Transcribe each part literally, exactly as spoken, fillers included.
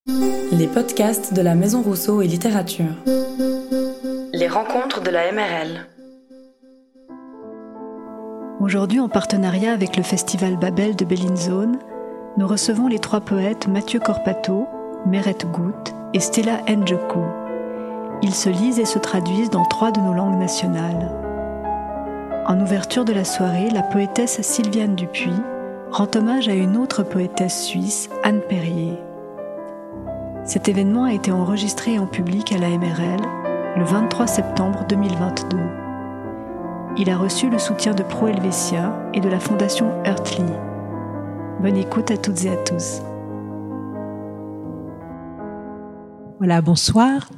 Les podcasts de la Maison Rousseau et Littérature. Les rencontres de la M R L. Aujourd'hui, en partenariat avec le festival Babel de Bellinzone, nous recevons les trois poètes Mathieu Corpato, Meret Gout et Stella Njoku. Ils se lisent et se traduisent dans trois de nos langues nationales. En ouverture de la soirée, la poétesse Sylviane Dupuis rend hommage à une autre poétesse suisse, Anne Perrier. Cet événement a été enregistré en public à la M R L le vingt-trois septembre deux mille vingt-deux. Il a reçu le soutien de Pro Helvetia et de la Fondation Earthly. Bonne écoute à toutes et à tous. Voilà, bonsoir.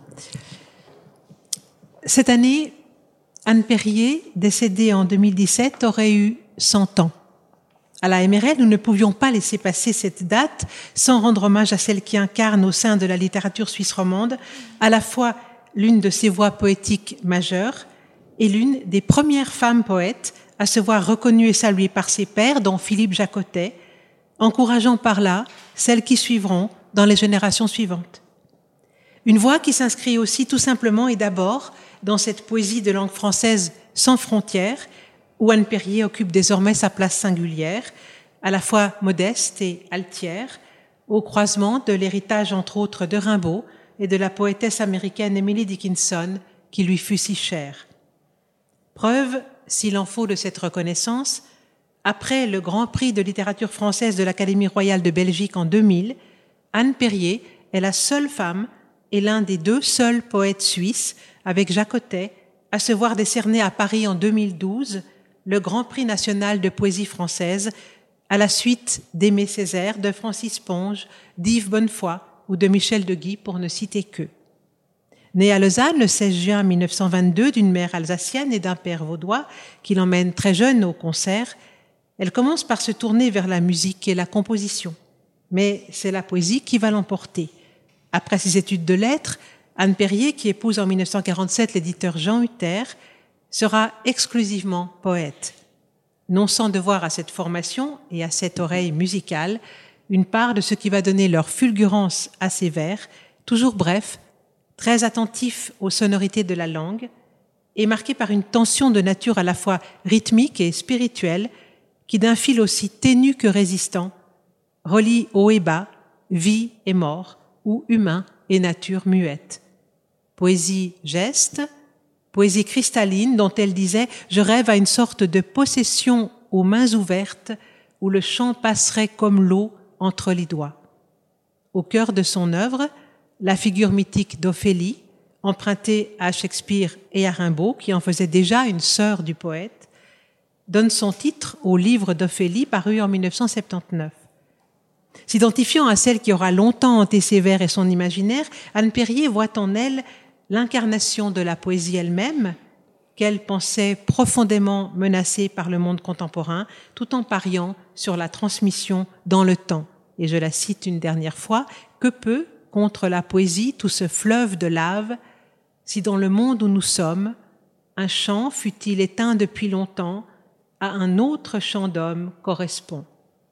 Cette année, Anne Perrier, décédée en deux mille dix-sept, aurait eu cent ans. À la M R L, nous ne pouvions pas laisser passer cette date sans rendre hommage à celle qui incarne au sein de la littérature suisse romande à la fois l'une de ses voix poétiques majeures et l'une des premières femmes poètes à se voir reconnue et saluée par ses pairs, dont Philippe Jacotet, encourageant par là celles qui suivront dans les générations suivantes. Une voix qui s'inscrit aussi tout simplement et d'abord dans cette poésie de langue française sans frontières, où Anne Perrier occupe désormais sa place singulière, à la fois modeste et altière, au croisement de l'héritage entre autres de Rimbaud et de la poétesse américaine Emily Dickinson, qui lui fut si chère. Preuve, s'il en faut, de cette reconnaissance, après le Grand Prix de littérature française de l'Académie royale de Belgique en deux mille, Anne Perrier est la seule femme et l'un des deux seuls poètes suisses, avec Jacotet, à se voir décerner à Paris en deux mille douze le Grand Prix national de poésie française, à la suite d'Aimé Césaire, de Francis Ponge, d'Yves Bonnefoy ou de Michel de Guy, pour ne citer qu'eux. Née à Lausanne le seize juin mille neuf cent vingt-deux d'une mère alsacienne et d'un père vaudois qui l'emmène très jeune au concert, elle commence par se tourner vers la musique et la composition. Mais c'est la poésie qui va l'emporter. Après ses études de lettres, Anne Perrier, qui épouse en mille neuf cent quarante-sept l'éditeur Jean Hutter, sera exclusivement poète, non sans devoir à cette formation et à cette oreille musicale une part de ce qui va donner leur fulgurance à ses vers, toujours brefs, très attentifs aux sonorités de la langue et marqués par une tension de nature à la fois rythmique et spirituelle qui, d'un fil aussi ténu que résistant, relie haut et bas, vie et mort, ou humain et nature muette. Poésie geste, poésie cristalline dont elle disait « Je rêve à une sorte de possession aux mains ouvertes où le chant passerait comme l'eau entre les doigts. » Au cœur de son œuvre, la figure mythique d'Ophélie, empruntée à Shakespeare et à Rimbaud, qui en faisait déjà une sœur du poète, donne son titre au livre d'Ophélie paru en mille neuf cent soixante-dix-neuf. S'identifiant à celle qui aura longtemps hanté ses vers et son imaginaire, Anne Perrier voit en elle l'incarnation de la poésie elle-même, qu'elle pensait profondément menacée par le monde contemporain, tout en pariant sur la transmission dans le temps. Et je la cite une dernière fois, « Que peut, contre la poésie, tout ce fleuve de lave, si dans le monde où nous sommes, un chant, fût-il éteint depuis longtemps, à un autre chant d'homme correspond ?»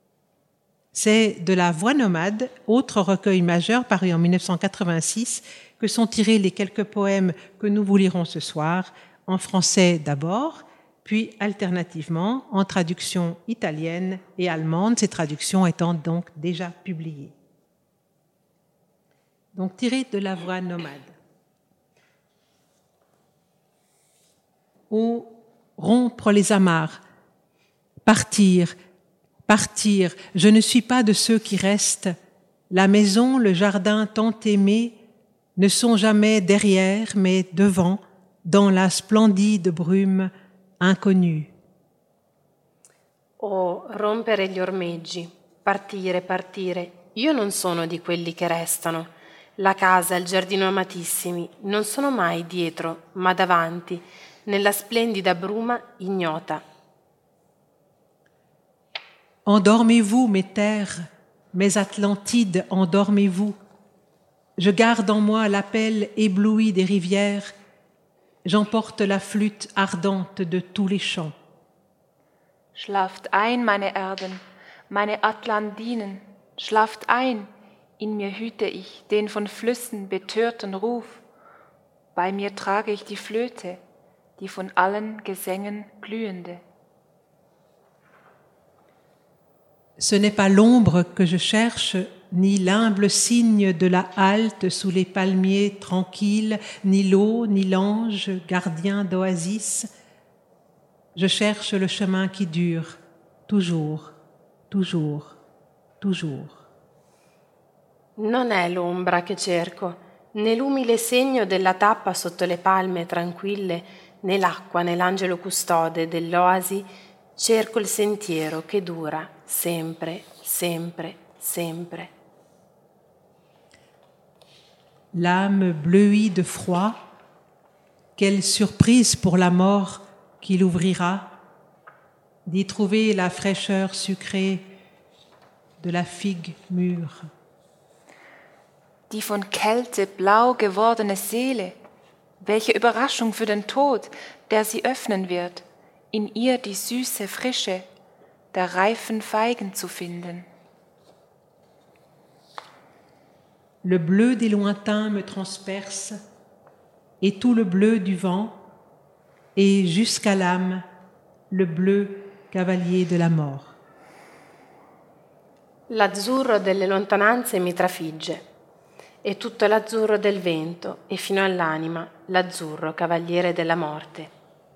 C'est de La Voix nomade, autre recueil majeur paru en mille neuf cent quatre-vingt-six, que sont tirés les quelques poèmes que nous vous lirons ce soir, en français d'abord, puis alternativement en traduction italienne et allemande, ces traductions étant donc déjà publiées. Donc tiré de La Voix nomade. Ou rompre les amarres, partir, Partir, je ne suis pas de ceux qui restent. La maison, le jardin tant aimé ne sont jamais derrière, mais devant, dans la splendide brume inconnue. O rompere gli ormeggi, partire, partire. Io non sono di quelli che restano. La casa, il giardino amatissimi, non sono mai dietro, ma davanti, nella splendida bruma ignota. Endormez-vous, mes terres, mes Atlantides, endormez-vous. Je garde en moi l'appel ébloui des rivières, j'emporte la flûte ardente de tous les champs. Schlaft ein, meine Erden, meine Atlandinen, schlaft ein, In mir hüte ich den von Flüssen betörten Ruf. Bei mir trage ich die Flöte, die von allen Gesängen glühende. Ce n'est pas l'ombre que je cherche, ni l'humble cygne de la halte sous les palmiers tranquilles, ni l'eau, ni l'ange, gardien d'oasis. Je cherche le chemin qui dure, toujours, toujours, toujours. Non è l'ombra che cerco, né l'umile segno della tappa sotto le palme tranquille, né l'acqua, né l'angelo custode dell'oasi. Cerco il sentiero che dura sempre, sempre, sempre. L'âme bleuie de froid, quelle surprise pour la mort qui l'ouvrira, d'y trouver la fraîcheur sucrée de la figue mûre. Die von Kälte blau gewordene Seele, welche Überraschung für den Tod, der sie öffnen wird, in ihr die süße Frische der reifen Feigen zu finden. Le bleu des lointains me transperce, et tout le bleu du vent, et jusqu'à l'âme, le bleu cavalier de la mort. L'azzurro delle lontananze mi trafigge, e tutto l'azzurro del vento, e fino all'anima l'azzurro cavaliere della morte.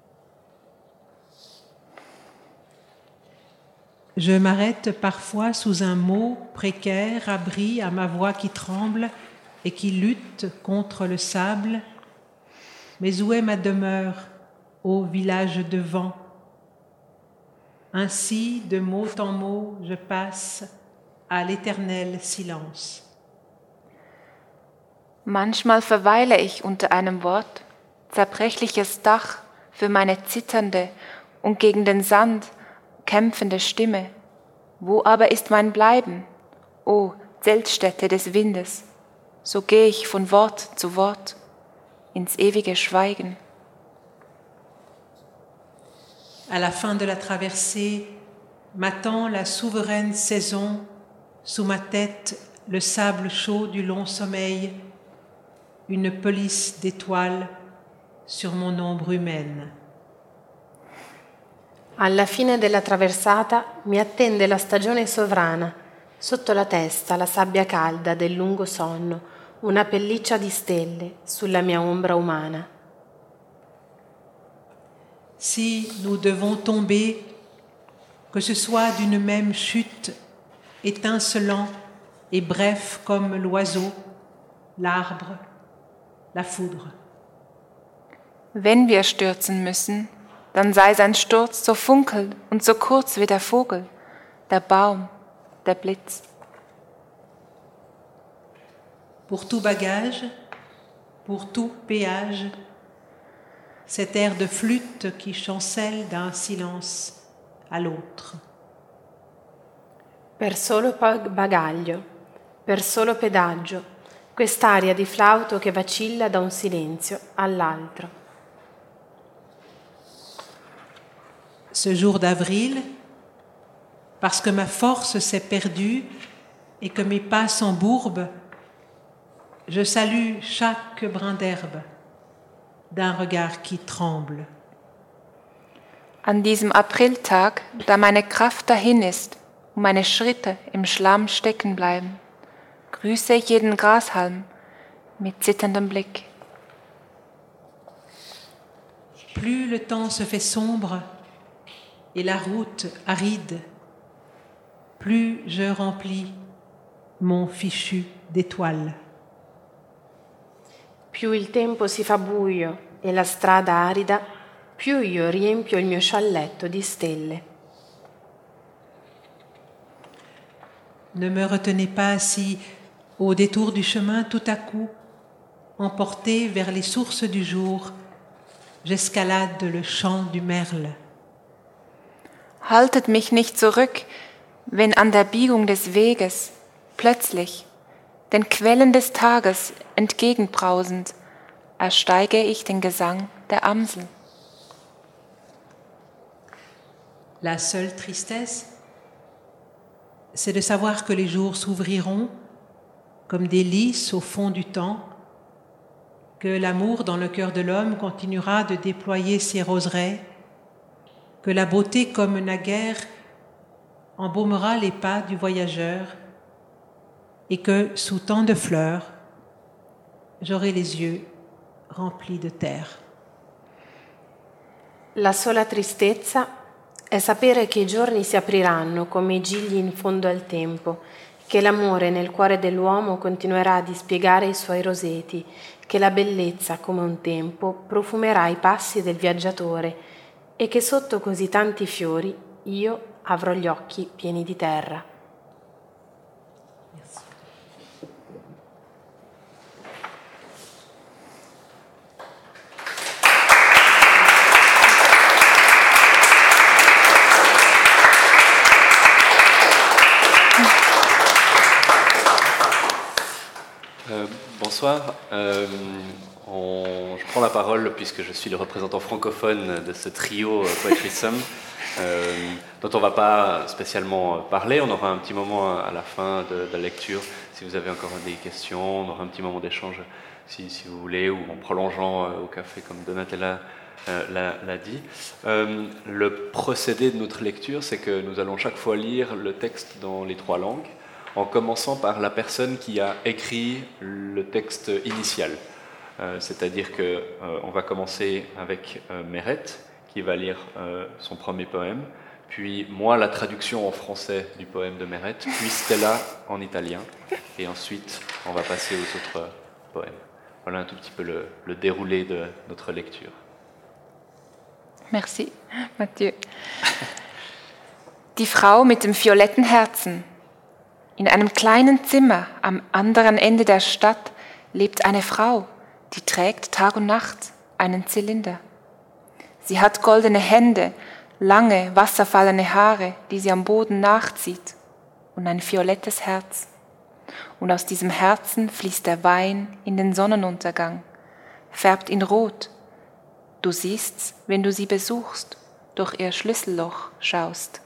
Je m'arrête parfois sous un mot précaire, abri à ma voix qui tremble et qui lutte contre le sable. Mais où est ma demeure, ô village de vent? Ainsi, de mot en mot, je passe à l'éternel silence. Manchmal verweile ich unter einem Wort, zerbrechliches Dach für meine zitternde und gegen den Sand kämpfende Stimme. Wo aber ist mein Bleiben, o Zeltstätte des Windes? So gehe ich von Wort zu Wort ins ewige Schweigen. À la fin de la traversée, m'attend la souveraine saison, sous ma tête le sable chaud du long sommeil, une pelisse d'étoiles sur mon ombre humaine. Alla fine della traversata mi attende la stagione sovrana, sotto la testa la sabbia calda del lungo sonno, una pelliccia di stelle sulla mia ombra umana. Si nous devons tomber, que ce soit d'une même chute, étincelant et bref comme l'oiseau, l'arbre, la foudre. Wenn wir stürzen müssen, dann sei sein Sturz so funkel und so kurz wie der Vogel, der Baum, der Blitz. Pour tout bagage, pour tout péage, cet air de flûte qui chancelle d'un silence à l'autre. Per solo bagaglio, per solo pedaggio, quest'aria di flauto che vacilla da un silenzio all'altro. Ce jour d'avril, parce que ma force s'est perdue et que mes pas s'embourbent, je salue chaque brin d'herbe d'un regard qui tremble. An diesem Apriltag, da meine Kraft dahin ist und meine Schritte im Schlamm stecken bleiben, grüße ich jeden Grashalm mit zitterndem Blick. Plus le temps se fait sombre et la route aride, plus je remplis mon fichu d'étoiles. Più il tempo si fa buio e la strada arida, più io riempio il mio scialletto di stelle. Ne me retenez pas si, au détour du chemin, tout à coup, emporté vers les sources du jour, j'escalade le champ du merle. Haltet mich nicht zurück, wenn an der Biegung des Weges plötzlich, den Quellen des Tages entgegenbrausend, ersteige ich den Gesang der Amsel. La seule tristesse, c'est de savoir que les jours s'ouvriront comme des lys au fond du temps, que l'amour dans le cœur de l'homme continuera de déployer ses roseraies, que la beauté comme naguère embaumera les pas du voyageur et que, sous tant de fleurs, j'aurai les yeux remplis de terre. La sola tristezza è sapere che i giorni si apriranno come i gigli in fondo al tempo, che l'amore nel cuore dell'uomo continuerà a dispiegare i suoi roseti, che la bellezza, come un tempo, profumerà i passi del viaggiatore e che sotto così tanti fiori io avrò gli occhi pieni di terra. Euh, bonsoir, euh, on, je prends la parole puisque je suis le représentant francophone de ce trio euh, Poetry Sum, euh, dont on ne va pas spécialement parler. On aura un petit moment à la fin de, de la lecture, si vous avez encore des questions, on aura un petit moment d'échange si, si vous voulez, ou en prolongeant euh, au café comme Donatella euh, l'a, l'a dit. Euh, le procédé de notre lecture, c'est que nous allons chaque fois lire le texte dans les trois langues, en commençant par la personne qui a écrit le texte initial. Euh, c'est-à-dire qu'on euh, va commencer avec euh, Meret, qui va lire euh, son premier poème, puis moi la traduction en français du poème de Meret, puis Stella en italien, et ensuite on va passer aux autres poèmes. Voilà un tout petit peu le, le déroulé de notre lecture. Merci, Mathieu. Die Frau mit dem violetten Herzen. In einem kleinen Zimmer am anderen Ende der Stadt lebt eine Frau, die trägt Tag und Nacht einen Zylinder. Sie hat goldene Hände, lange, wasserfallene Haare, die sie am Boden nachzieht, und ein violettes Herz. Und aus diesem Herzen fließt der Wein in den Sonnenuntergang, färbt ihn rot. Du siehst's, wenn du sie besuchst, durch ihr Schlüsselloch schaust.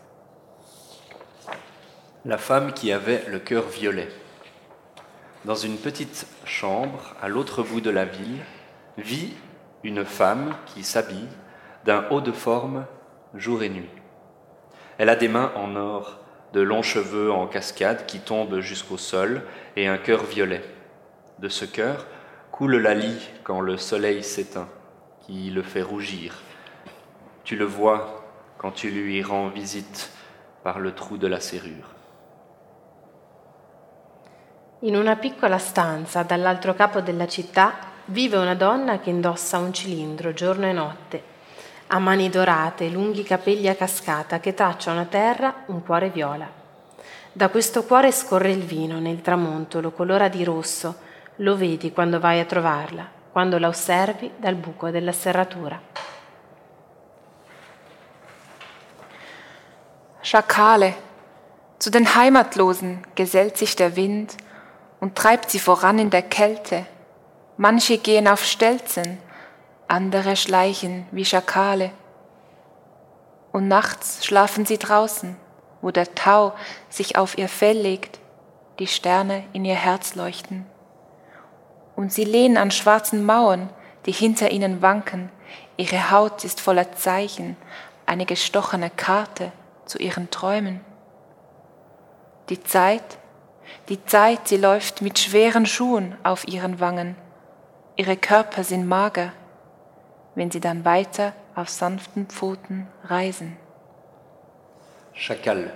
La femme qui avait le cœur violet. Dans une petite chambre à l'autre bout de la ville, vit une femme qui s'habille d'un haut de forme jour et nuit. Elle a des mains en or, de longs cheveux en cascade qui tombent jusqu'au sol et un cœur violet. De ce cœur coule la lie quand le soleil s'éteint, qui le fait rougir. Tu le vois quand tu lui rends visite par le trou de la serrure. In una piccola stanza dall'altro capo della città vive una donna che indossa un cilindro giorno e notte. Ha mani dorate, lunghi capelli a cascata che tracciano a terra un cuore viola. Da questo cuore scorre il vino, nel tramonto lo colora di rosso, lo vedi quando vai a trovarla, quando la osservi dal buco della serratura. Schakale, zu den Heimatlosen gesellt sich der Wind und treibt sie voran in der Kälte. Manche gehen auf Stelzen, andere schleichen wie Schakale. Und nachts schlafen sie draußen, wo der Tau sich auf ihr Fell legt, die Sterne in ihr Herz leuchten. Und sie lehnen an schwarzen Mauern, die hinter ihnen wanken. Ihre Haut ist voller Zeichen, eine gestochene Karte zu ihren Träumen. Die Zeit, die Zeit, sie läuft mit schweren Schuhen auf ihren Wangen. Ihre Körper sind mager, wenn sie dann weiter auf sanften Pfoten reisen. Chacal.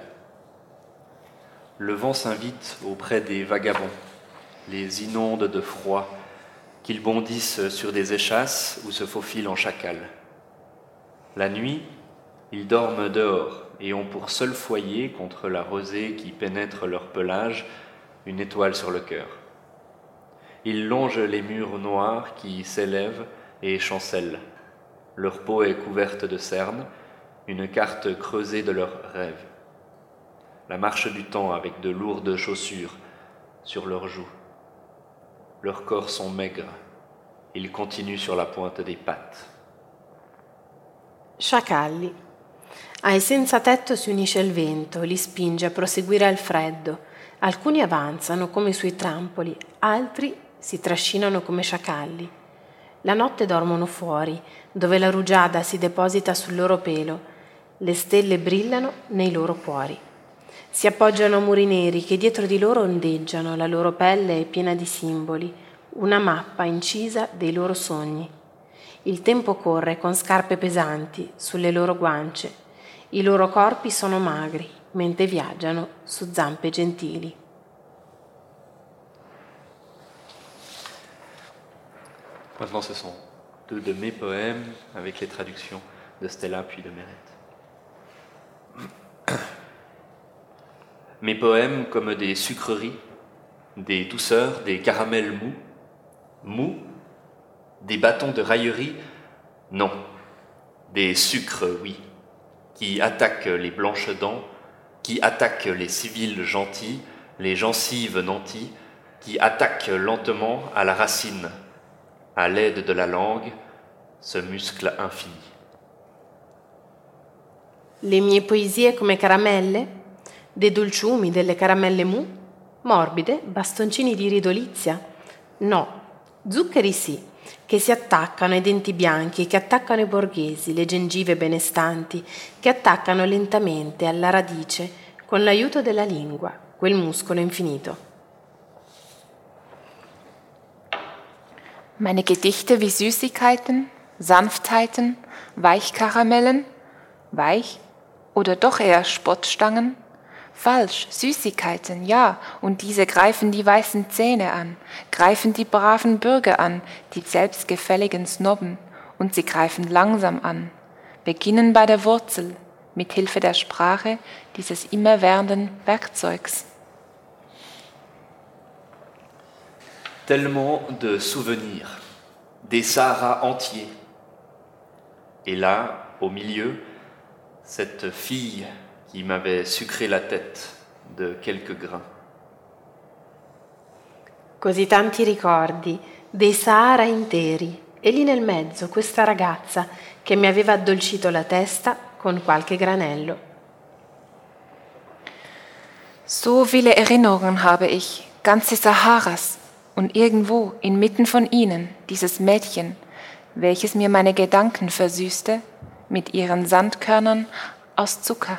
Le vent s'invite auprès des vagabonds, les inonde de froid, qu'ils bondissent sur des échasses ou se faufilent en chacal. La nuit, ils dorment dehors et ont pour seul foyer contre la rosée qui pénètre leur pelage une étoile sur le cœur. Ils longent les murs noirs qui s'élèvent et chancellent. Leur peau est couverte de cernes, une carte creusée de leurs rêves. La marche du temps avec de lourdes chaussures sur leurs joues. Leurs corps sont maigres. Ils continuent sur la pointe des pattes. Sciacalli. Ai senza tetto si unisce il vento, li spinge a proseguire al freddo. Alcuni avanzano come sui trampoli, altri si trascinano come sciacalli. La notte dormono fuori, dove la rugiada si deposita sul loro pelo, le stelle brillano nei loro cuori. Si appoggiano a muri neri che dietro di loro ondeggiano, la loro pelle è piena di simboli, una mappa incisa dei loro sogni. Il tempo corre con scarpe pesanti sulle loro guance, i loro corpi sono magri, mentre viaggiano su zampe gentili. Maintenant, ce sont deux de mes poèmes avec les traductions de Stella puis de Meret. Mes poèmes comme des sucreries, des douceurs, des caramels mous, mous, des bâtons de raillerie, non, des sucres, oui, qui attaquent les blanches dents, qui attaquent les civils gentils, les gencives nantis, qui attaquent lentement à la racine, à l'aide de la langue, ce muscle infini. Le mie poesie come caramelle? Dei dolciumi, delle caramelle mou? Morbide, bastoncini di ridolizia? No, zuccheri sì, che si attaccano ai denti bianchi, che attaccano i borghesi, le gengive benestanti, che attaccano lentamente alla radice con l'aiuto della lingua, quel muscolo infinito. Meine Gedichte wie Süßigkeiten, Sanftheiten, Weichkaramellen, weich oder doch eher Spottstangen? Falsch, Süßigkeiten, ja, und diese greifen die weißen Zähne an, greifen die braven Bürger an, die selbstgefälligen Snobben, und sie greifen langsam an, beginnen bei der Wurzel, mit Hilfe der Sprache dieses immerwährenden Werkzeugs. Tellement de souvenirs, des Saharas entiers. Et là, au milieu, cette fille qui m'avait sucré la tête de quelques grains. Così tanti ricordi, dei Sahara interi, e lì nel mezzo questa ragazza che mi aveva addolcito la testa con qualche granello. So viele Erinnerungen habe ich, ganze Saharas, und irgendwo inmitten von ihnen dieses Mädchen, welches mir meine Gedanken versüßte mit ihren Sandkörnern aus Zucker.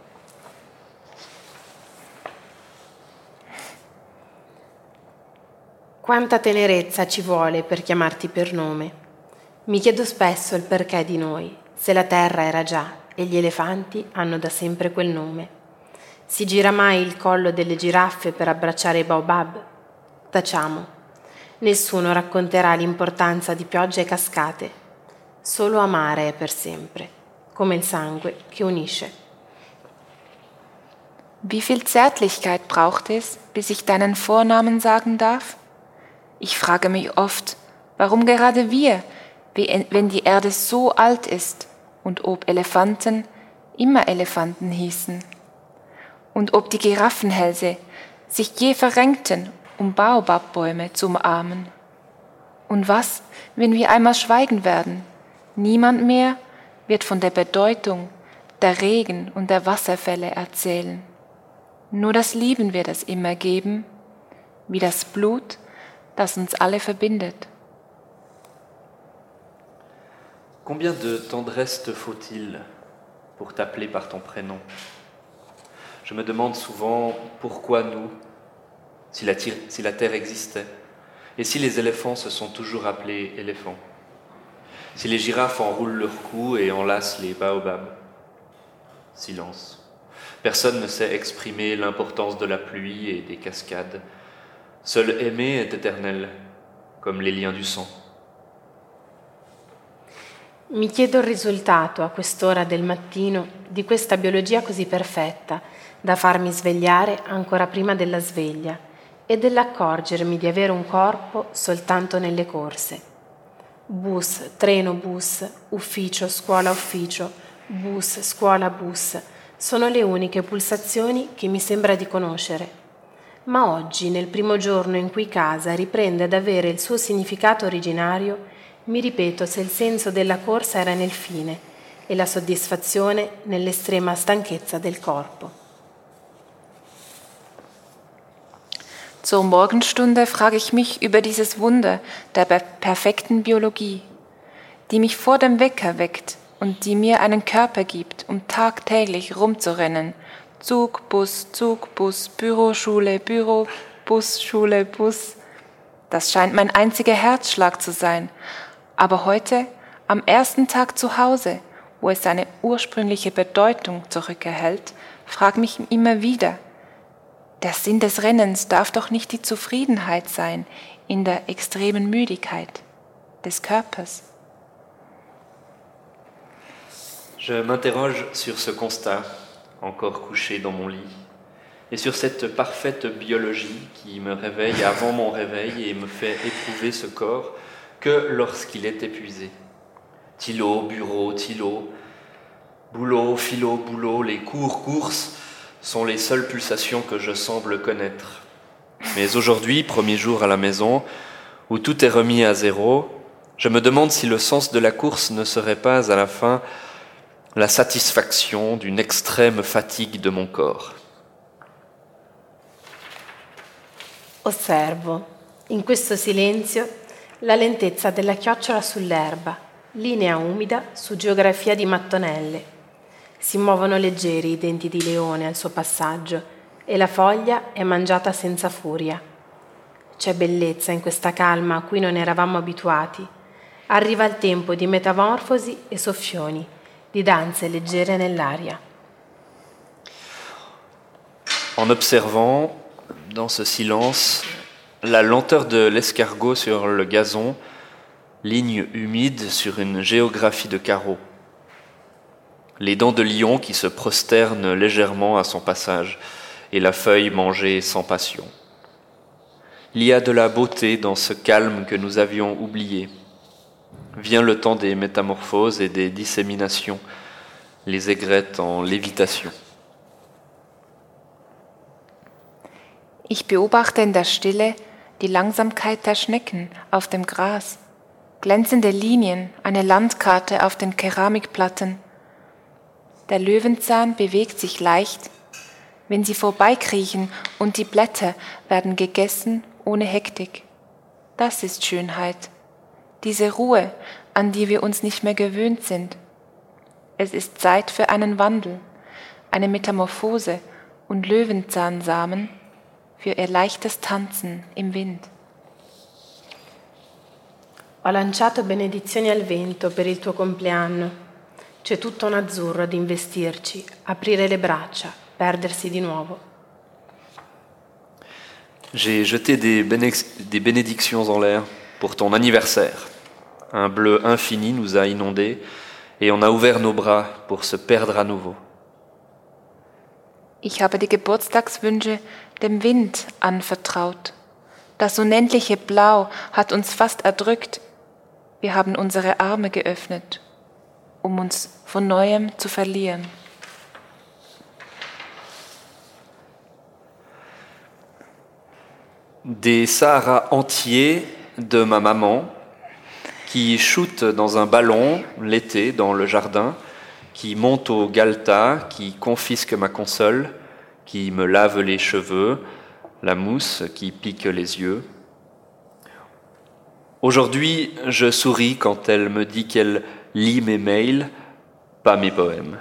Quanta tenerezza ci vuole per chiamarti per nome. Mi chiedo spesso il perché di noi, se la terra era già e gli elefanti hanno da sempre quel nome. Si gira mai il collo delle giraffe per abbracciare i baobab? Tacciamo. Nessuno racconterà l'importanza di piogge e cascate. Solo amare è per sempre, come il sangue che unisce. Wie viel Zärtlichkeit braucht es, bis ich deinen Vornamen sagen darf? Ich frage mich oft, warum gerade wir, wenn die Erde so alt ist, und ob Elefanten immer Elefanten hießen, und ob die Giraffenhälse sich je verrenkten, um Baobabbäume zu umarmen. Und was, wenn wir einmal schweigen werden? Niemand mehr wird von der Bedeutung der Regen und der Wasserfälle erzählen. Nur das Lieben wird es immer geben, wie das Blut, das uns alle verbindet. Combien de tendresse te faut-il pour t'appeler par ton prénom? Je me demande souvent pourquoi nous, si la, si la terre existait, et si les éléphants se sont toujours appelés éléphants, si les girafes enroulent leur cou et enlacent les baobabs. Silence. Personne ne sait exprimer l'importance de la pluie et des cascades. Seul aimer est éternel, comme les liens du sang. Mi chiedo il risultato a quest'ora del mattino di questa biologia così perfetta da farmi svegliare ancora prima della sveglia e dell'accorgermi di avere un corpo soltanto nelle corse. Bus, treno, bus, ufficio, scuola, ufficio, bus, scuola, bus, sono le uniche pulsazioni che mi sembra di conoscere. Ma oggi, nel primo giorno in cui casa riprende ad avere il suo significato originario, mi ripeto se il senso della corsa era nel fine e la soddisfazione nell'estrema stanchezza del corpo. Zur Morgenstunde frage ich mich über dieses Wunder der perfekten Biologie, die mich vor dem Wecker weckt und die mir einen Körper gibt, um tagtäglich rumzurennen. Zug, Bus, Zug, Bus, Büro, Schule, Büro, Bus, Schule, Bus. Das scheint mein einziger Herzschlag zu sein. Aber heute, am ersten Tag zu Hause, wo es seine ursprüngliche Bedeutung zurückerhält, frage mich immer wieder, der Sinn des Rennens darf doch nicht die Zufriedenheit sein in der extremen Müdigkeit des Körpers. Je m'interroge sur ce constat, encore couché dans mon lit, et sur cette parfaite biologie qui me réveille avant mon réveil et me fait éprouver ce corps que lorsqu'il est épuisé. Tilo, bureau, tilo, boulot, philo, boulot, les cours, courses sont les seules pulsations que je semble connaître. Mais aujourd'hui, premier jour à la maison, où tout est remis à zéro, je me demande si le sens de la course ne serait pas à la fin la satisfaction d'une extrême fatigue de mon corps. Osservo, in questo silenzio, la lentezza della chiocciola sull'erba, linea umida su geografia di mattonelle. Si muovono leggeri i denti di leone al suo passaggio e la foglia è mangiata senza furia. C'è bellezza in questa calma a cui non eravamo abituati. Arriva il tempo di metamorfosi e soffioni, di danze leggere nell'aria. En observant, dans ce silence, la lenteur de l'escargot sur le gazon, ligne humide sur une géographie de carreaux. Les dents de lion qui se prosternent légèrement à son passage, et la feuille mangée sans passion. Il y a de la beauté dans ce calme que nous avions oublié. Vient le temps des métamorphoses et des disséminations, les aigrettes en lévitation. Ich beobachte in der Stille die Langsamkeit der Schnecken auf dem Gras, glänzende Linien, eine Landkarte auf den Keramikplatten. Der Löwenzahn bewegt sich leicht, wenn sie vorbeikriechen und die Blätter werden gegessen ohne Hektik. Das ist Schönheit. Diese Ruhe, an die wir uns nicht mehr gewöhnt sind. Es ist Zeit für einen Wandel, eine Metamorphose und Löwenzahnsamen für ihr leichtes Tanzen im Wind. Ho lanciato benedizioni al vento per il tuo compleanno. C'è tutto un azzurro ad investirci, aprire le braccia, perdersi di nuovo. J'ai jeté des, bénex- des bénédictions en l'air pour ton anniversaire. Un bleu infini nous a inondés et on a ouvert nos bras pour se perdre à nouveau. Ich habe die Geburtstagswünsche dem Wind anvertraut. Das unendliche Blau hat uns fast erdrückt. Wir haben unsere Arme geöffnet, um uns von Neuem zu verlieren. Des Saharas entiers de ma maman qui shootent dans un ballon l'été dans le jardin, qui montent au Galta, qui confisquent ma console, qui me lavent les cheveux, la mousse qui pique les yeux. Aujourd'hui, je souris quand elle me dit qu'elle lit mes mails, pas mes poèmes.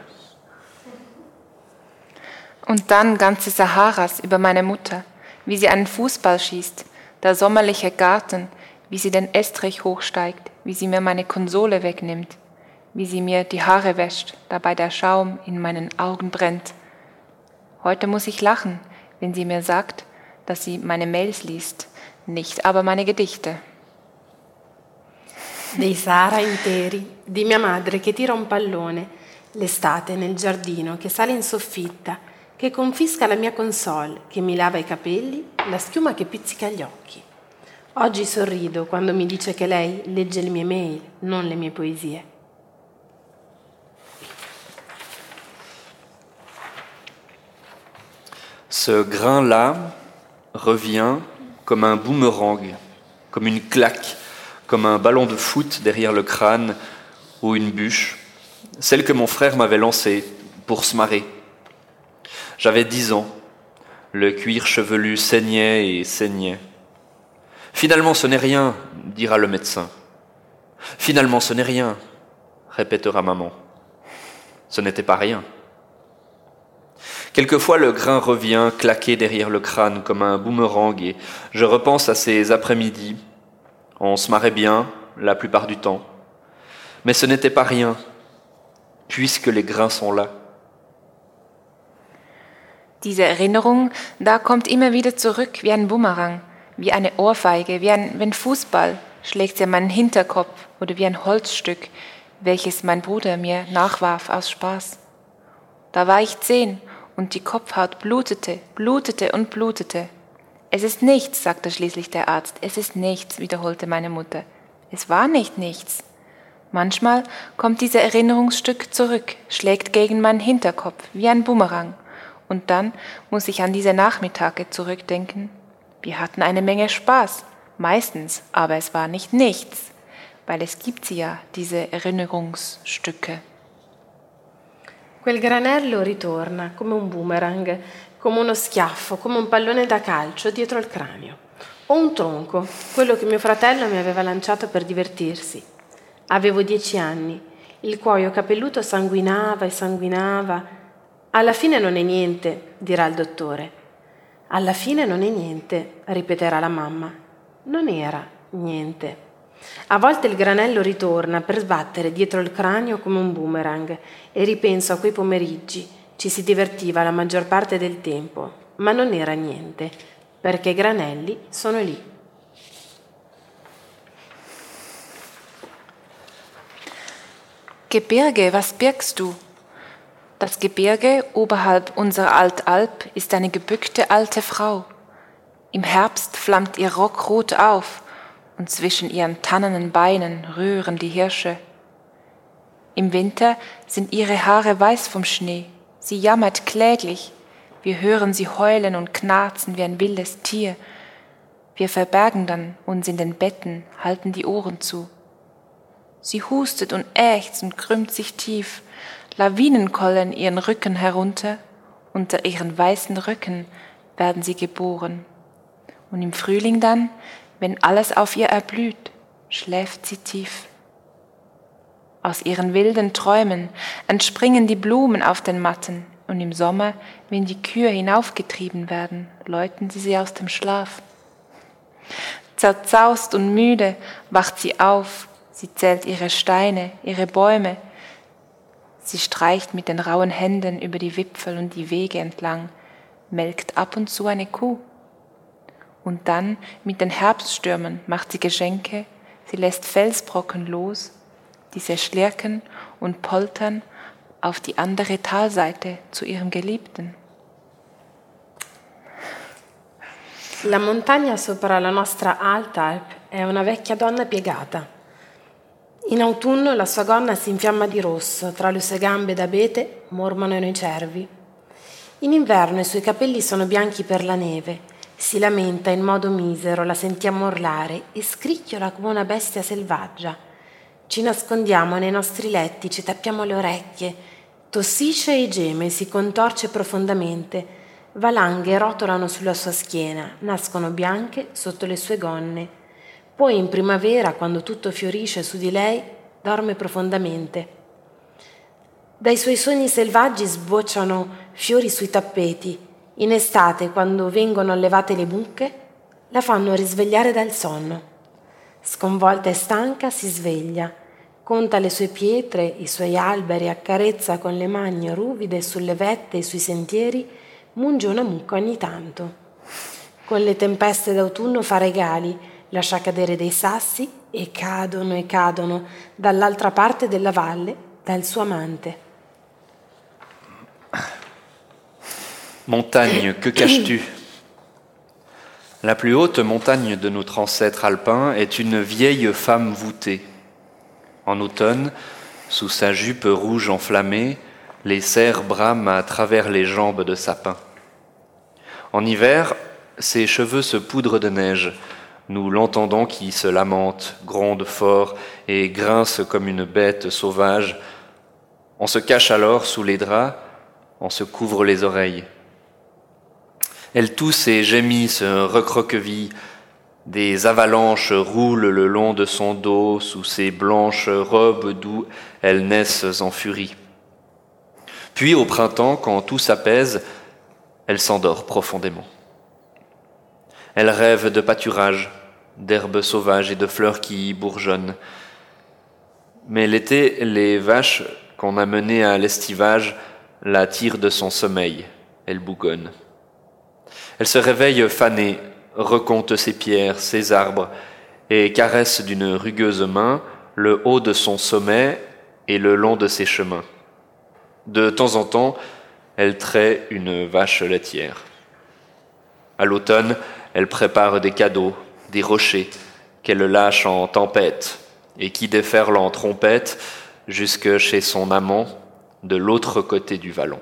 Und dann ganze Saharas über meine Mutter, wie sie einen Fußball schießt, der sommerliche Garten, wie sie den Estrich hochsteigt, wie sie mir meine Konsole wegnimmt, wie sie mir die Haare wäscht, dabei der Schaum in meinen Augen brennt. Heute muss ich lachen, wenn sie mir sagt, dass sie meine Mails liest, nicht aber meine Gedichte. Dei Sahara interi, di mia madre che tira un pallone, l'estate nel giardino, che sale in soffitta, che confisca la mia console, che mi lava i capelli, la schiuma che pizzica gli occhi. Oggi sorrido quando mi dice che lei legge le mie mail, non le mie poesie. Ce grain-là revient comme un boomerang, comme une claque, comme un ballon de foot derrière le crâne ou une bûche, celle que mon frère m'avait lancée pour se marrer. J'avais dix ans. Le cuir chevelu saignait et saignait. Finalement, ce n'est rien, dira le médecin. Finalement, ce n'est rien, répétera maman. Ce n'était pas rien. Quelquefois, le grain revient claquer derrière le crâne comme un boomerang et je repense à ces après-midi. On se marrait bien, la plupart du temps. Mais ce n'était pas rien, puisque les grains sont là. Diese Erinnerung, da kommt immer wieder zurück wie ein Bumerang, wie eine Ohrfeige, wie ein, wie ein Fußball schlägt sie an meinen Hinterkopf oder wie ein Holzstück, welches mein Bruder mir nachwarf aus Spaß. Da war ich zehn und die Kopfhaut blutete, blutete und blutete. Es ist nichts, sagte schließlich der Arzt. Es ist nichts, wiederholte meine Mutter. Es war nicht nichts. Manchmal kommt dieses Erinnerungsstück zurück, schlägt gegen meinen Hinterkopf wie ein Bumerang. Und dann muss ich an diese Nachmittage zurückdenken. Wir hatten eine Menge Spaß, meistens, aber es war nicht nichts, weil es gibt sie ja, diese Erinnerungsstücke. Quel granello ritorna come un boomerang, come uno schiaffo, come un pallone da calcio dietro il cranio. O un tronco, quello che mio fratello mi aveva lanciato per divertirsi. Avevo dieci anni, il cuoio capelluto sanguinava e sanguinava. Alla fine non è niente, dirà il dottore. Alla fine non è niente, ripeterà la mamma. Non era niente. A volte il granello ritorna per sbattere dietro il cranio come un boomerang e ripenso a quei pomeriggi. Ci si divertiva la maggior parte del tempo, ma non era niente, perché i granelli sono lì. Gebirge, was birgst du? Das Gebirge oberhalb unserer Altalp ist eine gebückte alte Frau. Im Herbst flammt ihr Rock rot auf und zwischen ihren tannenen Beinen rühren die Hirsche. Im Winter sind ihre Haare weiß vom Schnee. Sie jammert kläglich. Wir hören sie heulen und knarzen wie ein wildes Tier. Wir verbergen dann uns in den Betten, halten die Ohren zu. Sie hustet und ächzt und krümmt sich tief. Lawinen kollen ihren Rücken herunter, unter ihren weißen Rücken werden sie geboren. Und im Frühling dann, wenn alles auf ihr erblüht, schläft sie tief. Aus ihren wilden Träumen entspringen die Blumen auf den Matten und im Sommer, wenn die Kühe hinaufgetrieben werden, läuten sie sie aus dem Schlaf. Zerzaust und müde wacht sie auf, sie zählt ihre Steine, ihre Bäume. Sie streicht mit den rauen Händen über die Wipfel und die Wege entlang, melkt ab und zu eine Kuh. Und dann mit den Herbststürmen macht sie Geschenke, sie lässt Felsbrocken los, diese schlirken und poltern auf die andere Talseite zu ihrem Geliebten. La montagna sopra la nostra Altalp è una vecchia donna piegata. In autunno la sua gonna si infiamma di rosso, tra le sue gambe d'abete mormorano i cervi. In inverno i suoi capelli sono bianchi per la neve, si lamenta in modo misero, la sentiamo urlare e scricchiola come una bestia selvaggia. Ci nascondiamo nei nostri letti, ci tappiamo le orecchie, tossisce e geme, si contorce profondamente, valanghe rotolano sulla sua schiena, nascono bianche sotto le sue gonne. Poi in primavera, quando tutto fiorisce su di lei, dorme profondamente. Dai suoi sogni selvaggi sbocciano fiori sui tappeti. In estate, quando vengono allevate le mucche, la fanno risvegliare dal sonno. Sconvolta e stanca si sveglia, conta le sue pietre, i suoi alberi, accarezza con le mani ruvide sulle vette e sui sentieri, munge una mucca ogni tanto. Con le tempeste d'autunno fa regali, lascia cadere dei sassi e cadono e cadono dall'altra parte della valle dal suo amante. Montagne, que caches-tu? La plus haute montagne de notre ancêtre alpin est une vieille femme voûtée. En automne, sous sa jupe rouge enflammée, les cerfs brament à travers les jambes de sapin. En hiver, ses cheveux se poudrent de neige. Nous l'entendons qui se lamente, gronde fort et grince comme une bête sauvage. On se cache alors sous les draps, on se couvre les oreilles. Elles toussent et gémissent, recroquevillent. Des avalanches roulent le long de son dos, sous ses blanches robes d'où elles naissent en furie. Puis au printemps, quand tout s'apaise, elle s'endort profondément. Elle rêve de pâturage, d'herbes sauvages et de fleurs qui bourgeonnent. Mais l'été, les vaches qu'on a menées à l'estivage la tirent de son sommeil. Elle bougonne. Elle se réveille fanée, recompte ses pierres, ses arbres, et caresse d'une rugueuse main le haut de son sommet et le long de ses chemins. De temps en temps, elle traite une vache laitière. À l'automne, elle prépare des cadeaux, des rochers, qu'elle lâche en tempête, et qui déferlent en trompette jusque chez son amant, de l'autre côté du vallon.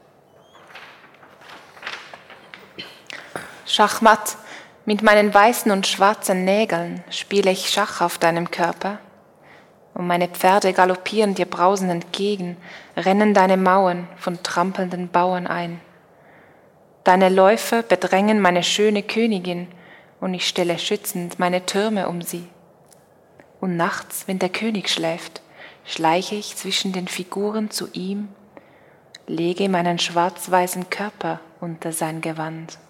Schachmatt, mit meinen weißen und schwarzen Nägeln spiele ich Schach auf deinem Körper. Und meine Pferde galoppieren dir brausend entgegen, rennen deine Mauern von trampelnden Bauern ein. Deine Läufe bedrängen meine schöne Königin, und ich stelle schützend meine Türme um sie. Und nachts, wenn der König schläft, schleiche ich zwischen den Figuren zu ihm, lege meinen schwarz-weißen Körper unter sein Gewand.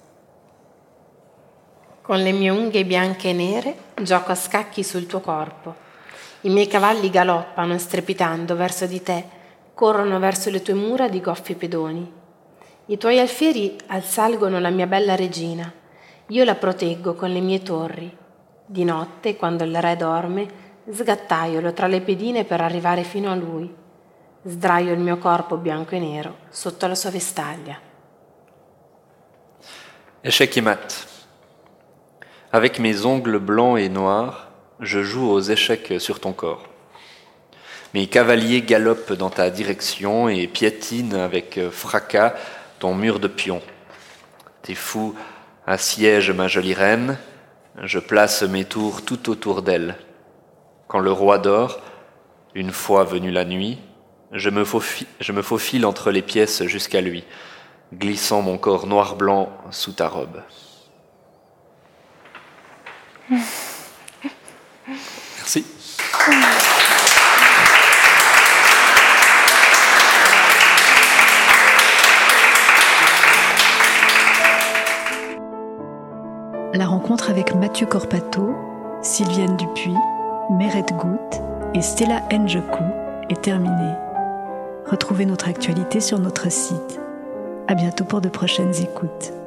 Con le mie unghie bianche e nere gioco a scacchi sul tuo corpo. I miei cavalli galoppano strepitando verso di te, corrono verso le tue mura di goffi pedoni. I tuoi alfieri assalgono la mia bella regina. Io la proteggo con le mie torri. Di notte, quando il re dorme, sgattaiolo tra le pedine per arrivare fino a lui. Sdraio il mio corpo bianco e nero sotto la sua vestaglia. Échec et mat. Avec mes ongles blancs et noirs, je joue aux échecs sur ton corps. Mes cavaliers galopent dans ta direction et piétinent avec fracas ton mur de pions. Tes fous assiègent ma jolie reine, je place mes tours tout autour d'elle. Quand le roi dort, une fois venue la nuit, je me faufile, je me faufile entre les pièces jusqu'à lui, glissant mon corps noir-blanc sous ta robe. Merci. La rencontre avec Mathieu Corpato, Sylviane Dupuis, Mérette Goutte et Stella Njoku est terminée. Retrouvez notre actualité sur notre site. À bientôt pour de prochaines écoutes.